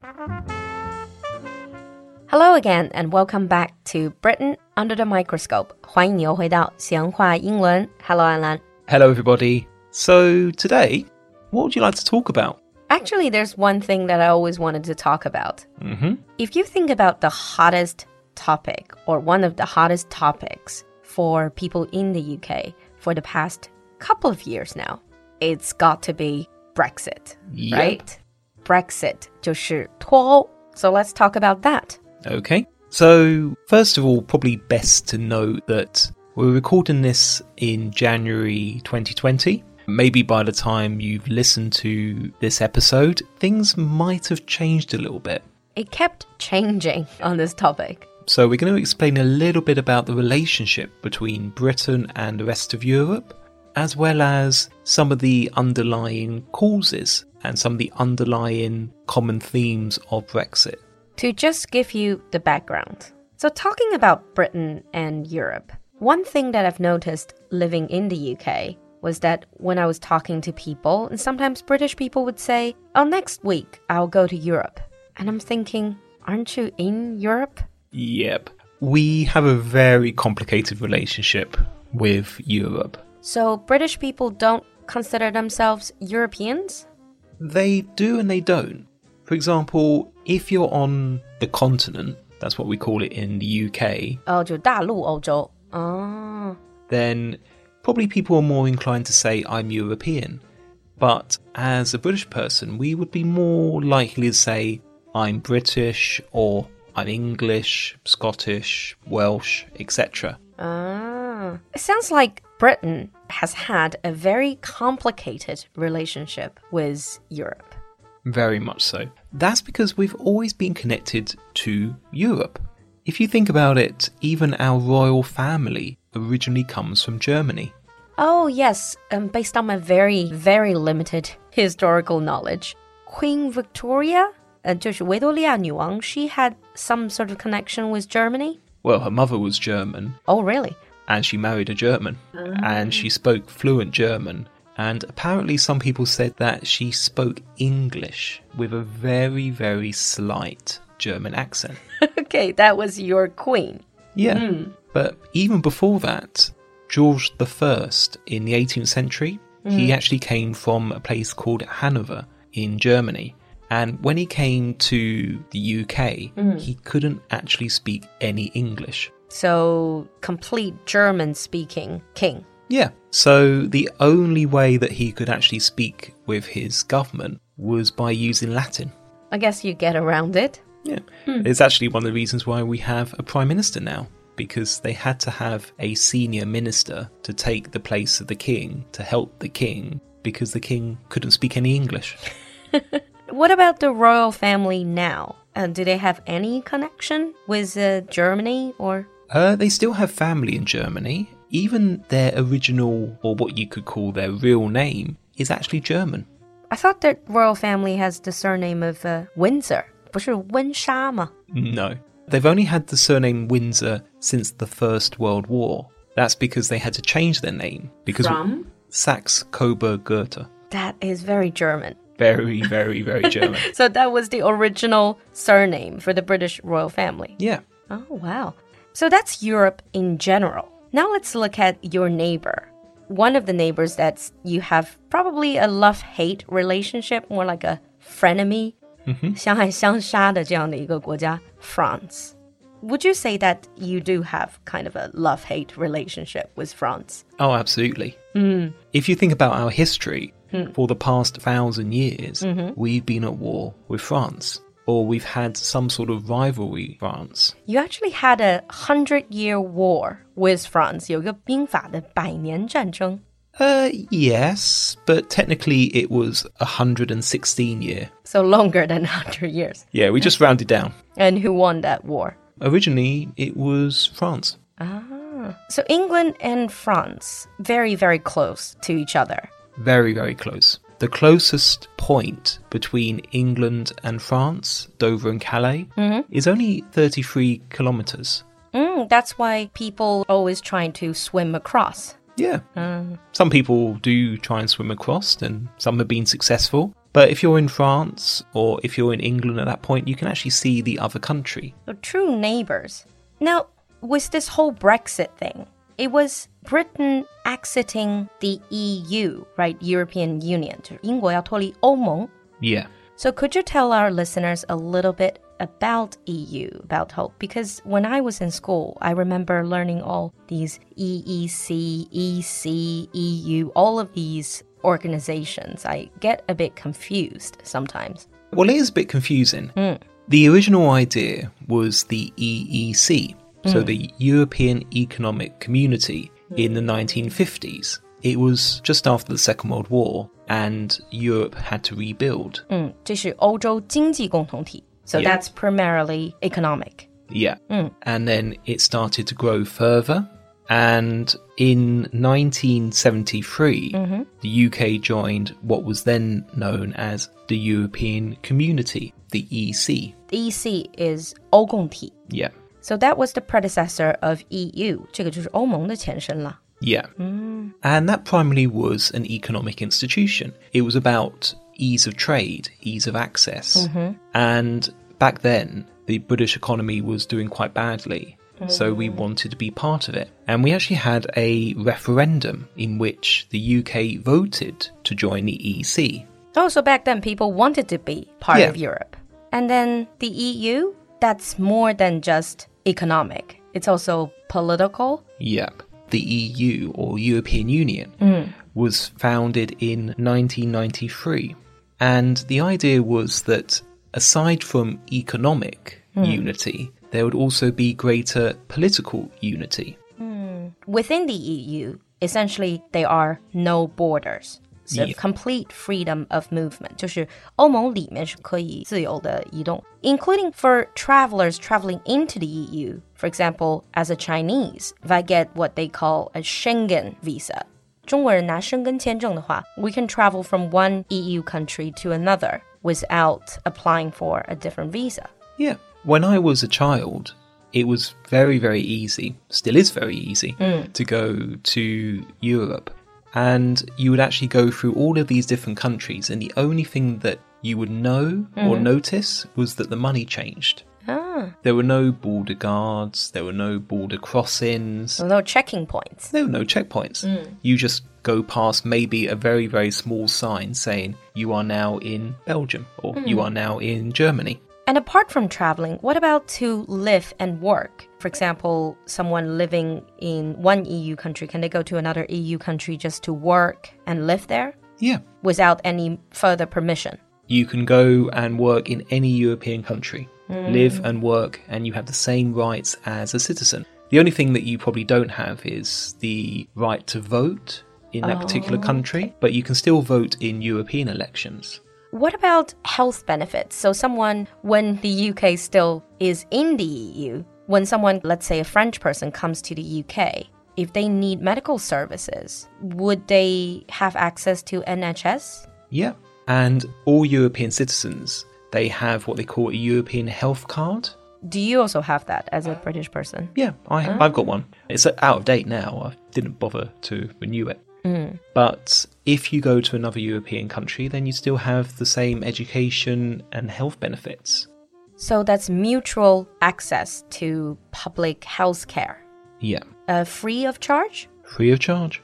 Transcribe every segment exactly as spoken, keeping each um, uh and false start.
Hello again and welcome back to Britain Under the Microscope. 欢迎你又回到闲话英文. Hello, Alan. Hello, everybody. So today, what would you like to talk about? Actually, there's one thing that I always wanted to talk about. Mm-hmm. If you think about the hottest topic or one of the hottest topics for people in the U K for the past couple of years now, it's got to be Brexit, Yep. right? Brexit 就是脱欧. So let's talk about that. Okay. So, first of all, probably best to note that we're recording this in January twenty twenty. Maybe by the time you've listened to this episode, things might have changed a little bit. It kept changing on this topic. So we're going to explain a little bit about the relationship between Britain and the rest of Europe, as well as some of the underlying causes and some of the underlying common themes of Brexit. To just give you the background. So talking about Britain and Europe, one thing that I've noticed living in the U K was that when I was talking to people, and sometimes British people would say, oh, next week I'll go to Europe. And I'm thinking, aren't you in Europe? Yep. We have a very complicated relationship with Europe. So British people don't consider themselves Europeans? They do and they don't. For example, if you're on the continent, that's what we call it in the U K, 哦，就大陆欧洲. Oh. then probably people are more inclined to say I'm European. But as a British person, we would be more likely to say I'm British or I'm English, Scottish, Welsh, et cetera. Ah. It sounds like Britain has had a very complicated relationship with Europe. Very much so. That's because we've always been connected to Europe. If you think about it, even our royal family originally comes from Germany. Oh, yes. Um, based on my very, very limited historical knowledge, Queen Victoria, uh, 就是维多利亚女王, she had some sort of connection with Germany? Well, her mother was German, Oh, really? and she married a German, and she spoke fluent German. And apparently some people said that she spoke English with a very, very slight German accent. Okay, that was your queen. Yeah, Mm. but even before that, George the First in the eighteenth century, he actually came from a place called Hanover in Germany. And when he came to the U K, he couldn't actually speak any English. So, complete German-speaking king. Yeah, so the only way that he could actually speak with his government was by using Latin. I guess you get around it. Yeah, it's actually one of the reasons why we have a prime minister now, because they had to have a senior minister to take the place of the king, to help the king, because the king couldn't speak any English. What about the royal family now? Uh, do they have any connection with uh, Germany or... Uh, they still have family in Germany. Even their original, or what you could call their real name, is actually German. I thought that royal family has the surname of uh, Windsor. 不是温莎吗? No. They've only had the surname Windsor since the First World War. That's because they had to change their name. Because From? Saxe-Coburg-Gotha. That is very German. Very, very, very German. So that was the original surname for the British royal family. Yeah. Oh, wow. So that's Europe in general. Now let's look at your neighbor. One of the neighbors that you have probably a love-hate relationship, more like a frenemy. 相爱相杀的这样的一个国家, France. Would you say that you do have kind of a love-hate relationship with France? Oh, absolutely. Mm. If you think about our history, for the past thousand years, we've been at war with France. Or we've had some sort of rivalry with France. You actually had a hundred-year war with France. 有个兵法的百年战争. Uh, yes, but technically it was one hundred sixteen year. So longer than one hundred years. Yeah, we just rounded down. And who won that war? Originally, it was France. Ah. So England and France, very, very close to each other. Very, very close. The closest point between England and France, Dover and Calais, is only thirty-three kilometers. Mm, that's why people always trying to swim across. Yeah. Some people do try and swim across, and some have been successful. But if you're in France or if you're in England at that point, you can actually see the other country. So true neighbors. Now, with this whole Brexit thing, it was Britain exiting the E U, right? European Union. 英国要脱离欧盟. Yeah. So could you tell our listeners a little bit about E U, about hope? Because when I was in school, I remember learning all these E E C, E C, E U, all of these organizations. I get a bit confused sometimes. Well, it is a bit confusing. Mm. The original idea was the E E C, so mm. the European Economic Community in the nineteen fifties. It was just after the Second World War, and Europe had to rebuild. 嗯，这是欧洲经济共同体. So Yeah. that's primarily economic. Yeah. Mm. And then it started to grow further. And in nineteen seventy-three, Mm-hmm. the U K joined what was then known as the European Community, the E C. The E C is 欧共体. Yeah. So that was the predecessor of E U. 这个就是欧盟的前身了. Yeah. Mm. And that primarily was an economic institution. It was about ease of trade, ease of access. Mm-hmm. And back then, the British economy was doing quite badly. So we wanted to be part of it. And we actually had a referendum in which the U K voted to join the E C. Oh, so back then people wanted to be part Yeah. of Europe. And then the E U, that's more than just economic. It's also political. Yep. The E U, or European Union, Mm. was founded in nineteen ninety-three. And the idea was that aside from economic unity, there would also be greater political unity. Within the E U, essentially, there are no borders. So Yeah. complete freedom of movement. 就是欧盟里面是可以自由的移动, including for travelers traveling into the E U. For example, as a Chinese, if I get what they call a Schengen visa, 中国人拿申根签证的话, we can travel from one E U country to another without applying for a different visa. Yeah. When I was a child, it was very, very easy, still is very easy, to go to Europe. And you would actually go through all of these different countries, and the only thing that you would know or notice was that the money changed. Ah, There were no border guards, there were no border crossings, so no checking points. there were no checkpoints. You just go past maybe a very, very small sign saying you are now in Belgium or you are now in Germany. And apart from traveling, what about to live and work? For example, someone living in one E U country, can they go to another E U country just to work and live there Yeah. without any further permission? You can go and work in any European country, live and work, and you have the same rights as a citizen. The only thing that you probably don't have is the right to vote in that particular country, but you can still vote in European elections. What about health benefits? So someone, when the U K still is in the E U, when someone, let's say a French person comes to the U K, if they need medical services, would they have access to N H S? Yeah. And all European citizens, they have what they call a European health card. Do you also have that as a British person? Yeah, I, I've got one. It's out of date now. I didn't bother to renew it. But if you go to another European country, then you still have the same education and health benefits. So that's mutual access to public health care. Yeah, Uh, free of charge? free of charge.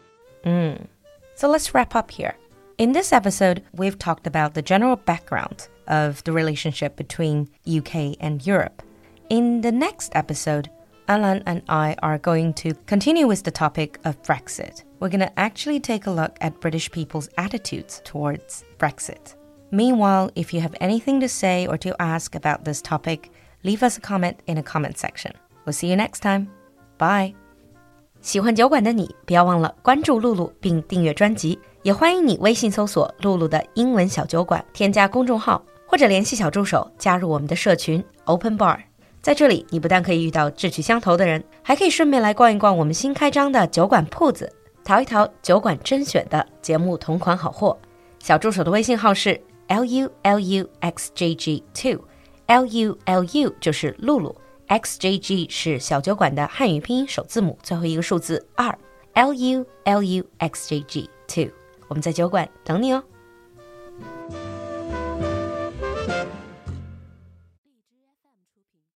So let's wrap up here. In this episode, we've talked about the general background of the relationship between U K and Europe. In the next episode, Alan and I are going to continue with the topic of Brexit. We're going to actually take a look at British people's attitudes towards Brexit. Meanwhile, if you have anything to say or to ask about this topic, leave us a comment in a comment section. We'll see you next time. Bye. 喜欢酒馆的你，不要忘了关注露露并订阅专辑，也欢迎你微信搜索露露的英文小酒馆，添加公众号或者联系小助手加入我们的社群 Open Bar。在这里，你不但可以遇到志趣相投的人，还可以顺便来逛一逛我们新开张的酒馆铺子，淘一淘酒馆甄选的节目同款好货。小助手的微信号是 L U L U X J G two， L U L U 就是露露。X J G 是小酒馆的汉语拼音首字母，最后一个数字二 L U L U X J G two， 我们在酒馆等你哦。